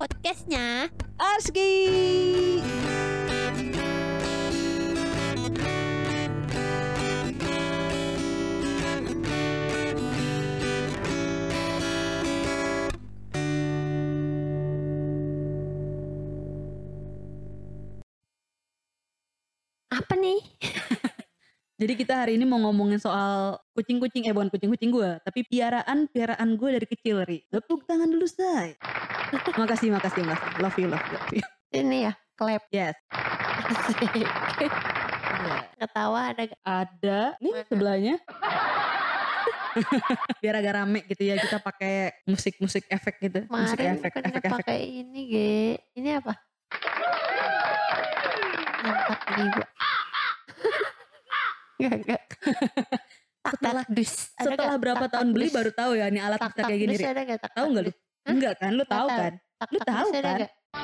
podcastnya Arski. apa nih? Jadi kita hari ini mau ngomongin soal kucing-kucing, bukan kucing-kucing gue, tapi piaraan gue dari kecil, Ri. Tepuk tangan dulu, say. Makasih. Love you. Ini ya, clap. Yes. Asik. Yeah. Ketawa ada gak? Ada nih Mana? sebelahnya. Biar agak rame gitu ya, kita pakai musik efek gitu. Musik Kemarin efek. bukannya pakai ini, Ge. Ini apa? Angkat jiwa. Gak. Setelah berapa tahun beli baru tahu ya, ini alat bisa kayak gini, Ri. Tahu nggak lu? Enggak kan? Lu tahu kan? Lu tahu kan?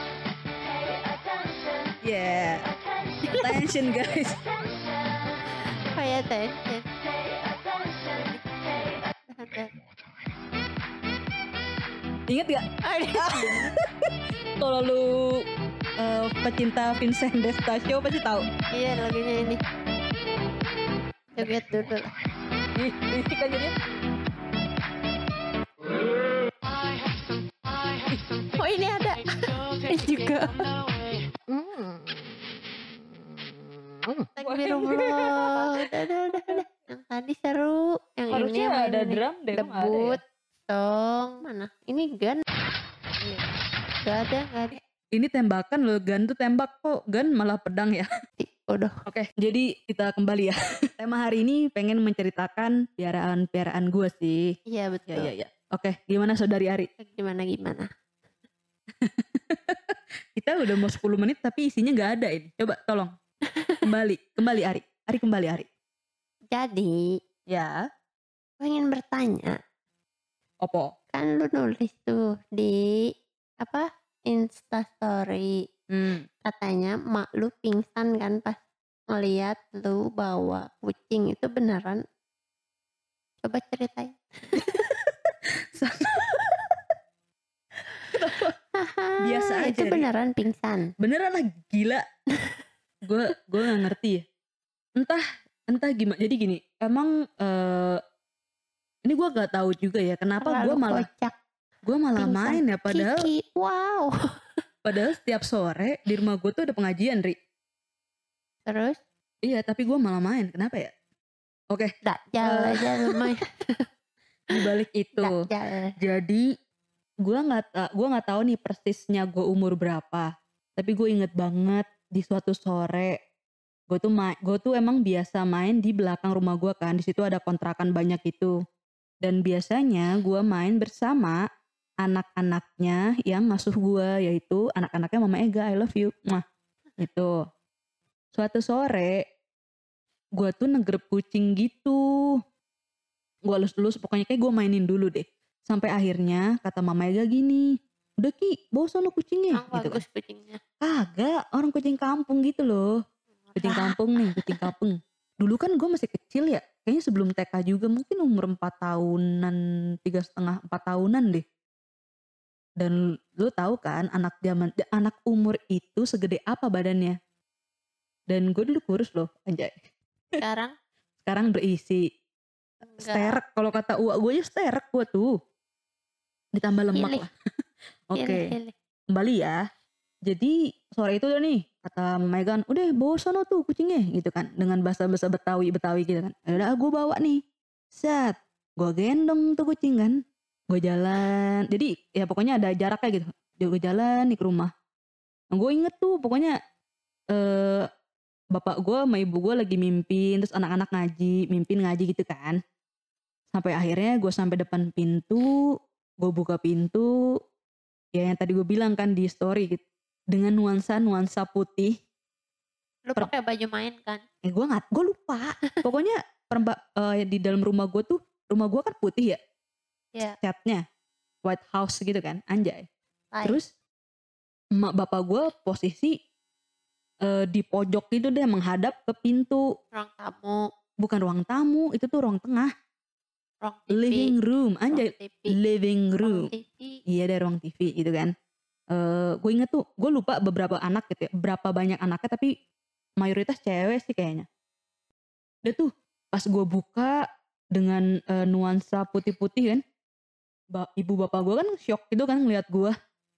Yeah. Attention guys. Pay attention. Ingat gak? Kalau lu pecinta Vincent D'Estasio pasti tahu. Iya, lagunya ini. Coba dulu lah. Risik aja dia. Oh, ini ada. Ini juga. Astagfirullah. Udah. Yang tadi seru. Yang Harusnya ini ada drum deh. debut song. Mana? Ini gun. Gak ada. Ini tembakan loh, gun tuh tembak kok. Gun malah pedang ya. Udah. Oke, jadi kita kembali ya. Tema hari ini pengen menceritakan piaraan gue sih. Iya, betul. Ya. Oke, gimana Saudari Ari? Gimana? Kita udah mau 10 menit tapi isinya gak ada ini. Coba tolong. Kembali Ari. Kembali Ari. Jadi, Ya. pengen bertanya. Opo? Kan lu nulis tuh di Instastory. Katanya mak lu pingsan kan pas ngeliat lu bawa kucing. Itu beneran? Coba ceritain. Biasa aja, Itu Ri. beneran pingsan. Beneran lah, gila. Gue gak ngerti ya. Entah gimana. Jadi gini, emang ini gue gak tahu juga ya kenapa gue malah pingsan. main ya, padahal Kiki, wow. Padahal setiap sore di rumah gue tuh ada pengajian, Ri. Terus? Iya, tapi gue malah main. Kenapa ya? Oke. Dajjal aja lumayan. Di balik itu. Dajjal. Jadi gue nggak tahu nih persisnya gue umur berapa. Tapi gue inget banget di suatu sore gue tuh emang biasa main di belakang rumah gue kan. Di situ ada kontrakan banyak itu. Dan biasanya gue main bersama anak-anaknya yang ngasuh gue, yaitu anak-anaknya Mama Ega, I love you. Itu. Suatu sore gue tuh negrep kucing gitu. Gue elus-elus, pokoknya kayak gue mainin dulu deh. Sampai akhirnya kata Mama Ega gini, udah Ki, bawa sono kucingnya. Gitu Gitu bagus kan. kucingnya. Kagak, orang kucing kampung gitu loh. Kucing kampung. Dulu kan gue masih kecil ya, kayaknya sebelum TK juga, mungkin umur 4 tahunan, 3,5, 4 tahunan deh. Dan lu tahu kan anak umur itu segede apa badannya. Dan gue dulu kurus loh, anjay. Sekarang berisi. Sterek, kalau kata uak gue ya sterek gue tuh. Ditambah lemak lah. Oke. Kembali ya. Jadi sore itu udah nih, kata Megan, udah bawa sono tuh kucingnya gitu kan. Dengan bahasa-bahasa Betawi gitu kan. Udah gue bawa nih. Set. Gue gendong tuh kucing kan. Gue jalan, jadi ya pokoknya ada jaraknya gitu. Gue jalan nih ke rumah. Nah, gue inget tuh pokoknya bapak gue sama ibu gue lagi mimpin, terus anak-anak mimpin ngaji gitu kan. Sampai akhirnya gue sampai depan pintu, gue buka pintu, ya yang tadi gue bilang kan di story gitu, dengan nuansa putih. Lu pakai baju main kan? Gue lupa. Pokoknya di dalam rumah gue kan putih ya. Yeah. Catnya White House gitu kan, anjay. Hai. Terus emak bapak gue posisi di pojok gitu deh, menghadap ke pintu. Ruang tamu. Bukan ruang tamu, itu tuh ruang tengah. Ruang TV. Living room, anjay. Ruang TV. Living room. Ruang TV. Iya, ada ruang TV gitu kan. Gue inget tuh, gue lupa beberapa anak gitu ya, berapa banyak anaknya, tapi mayoritas cewek sih kayaknya. Udah tuh pas gue buka dengan nuansa putih-putih kan, ibu bapak gue kan shock gitu kan ngeliat gue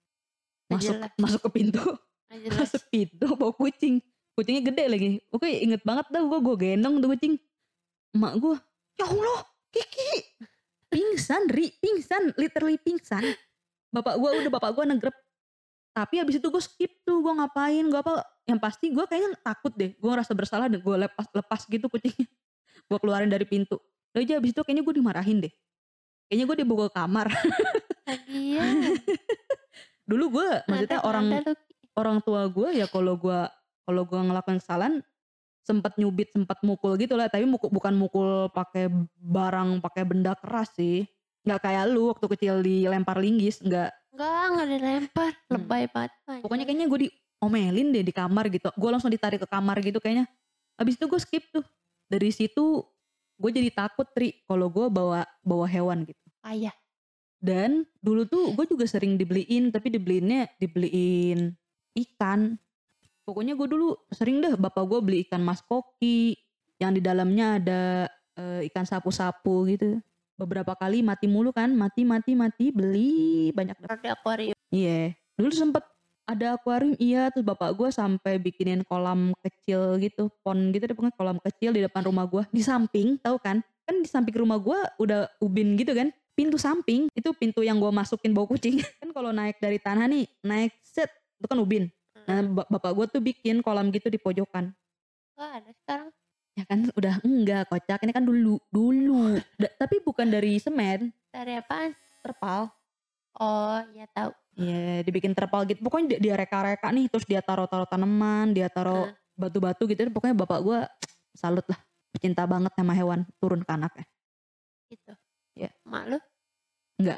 masuk ke pintu, masuk pintu bawa kucingnya gede lagi. Oke, inget banget dah gue gendong tuh kucing. Emak gue, ya Allah Kiki pingsan, literally pingsan. Bapak gue negrep. Tapi abis itu gue skip tuh, gue ngapain, gue apa, yang pasti gue kayaknya takut deh, gue ngerasa bersalah dan gue lepas gitu kucingnya, gue keluarin dari pintu. Lalu aja abis itu kayaknya gue dimarahin deh, kayaknya gue dibawa ke kamar. Iya. Dulu gue, maksudnya orang tua gue ya kalau gue ngelakuin kesalahan sempat nyubit, sempat mukul gitu lah, tapi bukan mukul pakai barang, pakai benda keras sih. Nggak kayak lu waktu kecil dilempar linggis, nggak dilempar, lebay banget. Pokoknya kayaknya gue diomelin deh di kamar gitu. Gue langsung ditarik ke kamar gitu kayaknya. Habis itu gue skip tuh. Dari situ gue jadi takut kalau gue bawa hewan gitu. Ayah. Dan dulu tuh gue juga sering dibeliin, tapi dibeliin ikan. Pokoknya gue dulu sering deh bapak gue beli ikan mas koki yang di dalamnya ada ikan sapu-sapu gitu. Beberapa kali mati mulu kan, mati beli banyak deh. Di akuarium. Iya, dulu sempet ada akuarium, iya. Terus bapak gue sampai bikinin kolam kecil gitu, pond gitu deh, pokoknya kolam kecil di depan rumah gue. Di samping, tahu kan di samping rumah gue udah ubin gitu kan. Pintu samping, itu pintu yang gue masukin bawa kucing. Kan kalau naik dari tanah nih, naik set, itu kan ubin. Nah bapak gue tuh bikin kolam gitu di pojokan. Gak ada sekarang. Ya kan udah enggak, kocak. Ini kan dulu. Tapi bukan dari semen. Dari apaan? Terpal. Oh ya tahu. Iya, dibikin terpal gitu. Pokoknya dia reka-reka nih, terus dia taruh tanaman, dia taruh batu-batu gitu. Pokoknya bapak gue salut lah, pecinta banget sama hewan, turun ke anaknya. Gitu. Ya. Mak lu? Enggak.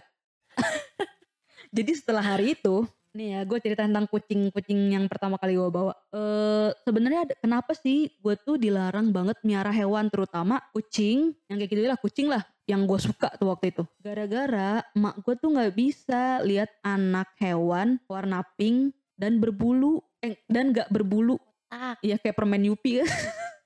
Jadi setelah hari itu, nih ya gue cerita tentang kucing yang pertama kali gue bawa. Sebenarnya kenapa sih gue tuh dilarang banget miara hewan, terutama kucing, yang kayak gitu lah, kucing lah yang gue suka tuh waktu itu. Gara-gara emak gue tuh gak bisa lihat anak hewan warna pink dan berbulu, dan gak berbulu. Iya kayak permen Yupi kan.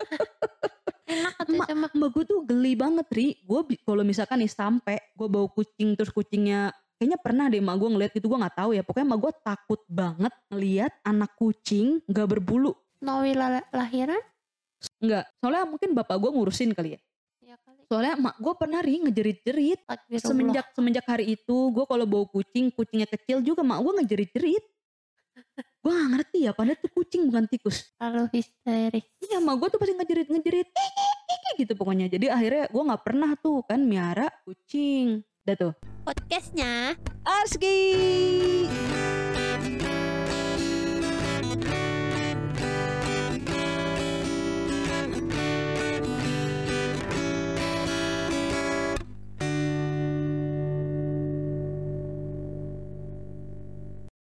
Enak katanya. Emak gue tuh geli banget gue kalau misalkan nih sampai gue bawa kucing terus kucingnya, kayaknya pernah deh emak gue ngeliat gitu, gue gak tahu ya. Pokoknya emak gue takut banget ngeliat anak kucing gak berbulu. Nawi lahiran? Enggak, soalnya mungkin bapak gue ngurusin kali ya. Iya kali. Soalnya emak gue pernah ngejerit-jerit. Semenjak hari itu gue kalau bawa kucingnya kecil juga emak gue ngejerit-jerit. Gue gak ngerti ya, padahal tuh kucing bukan tikus. Terlalu histeris. Iya, emak gue tuh pasti ngejerit gitu pokoknya. Jadi akhirnya gue gak pernah tuh kan miara kucing. Udah tuh podcastnya Arski.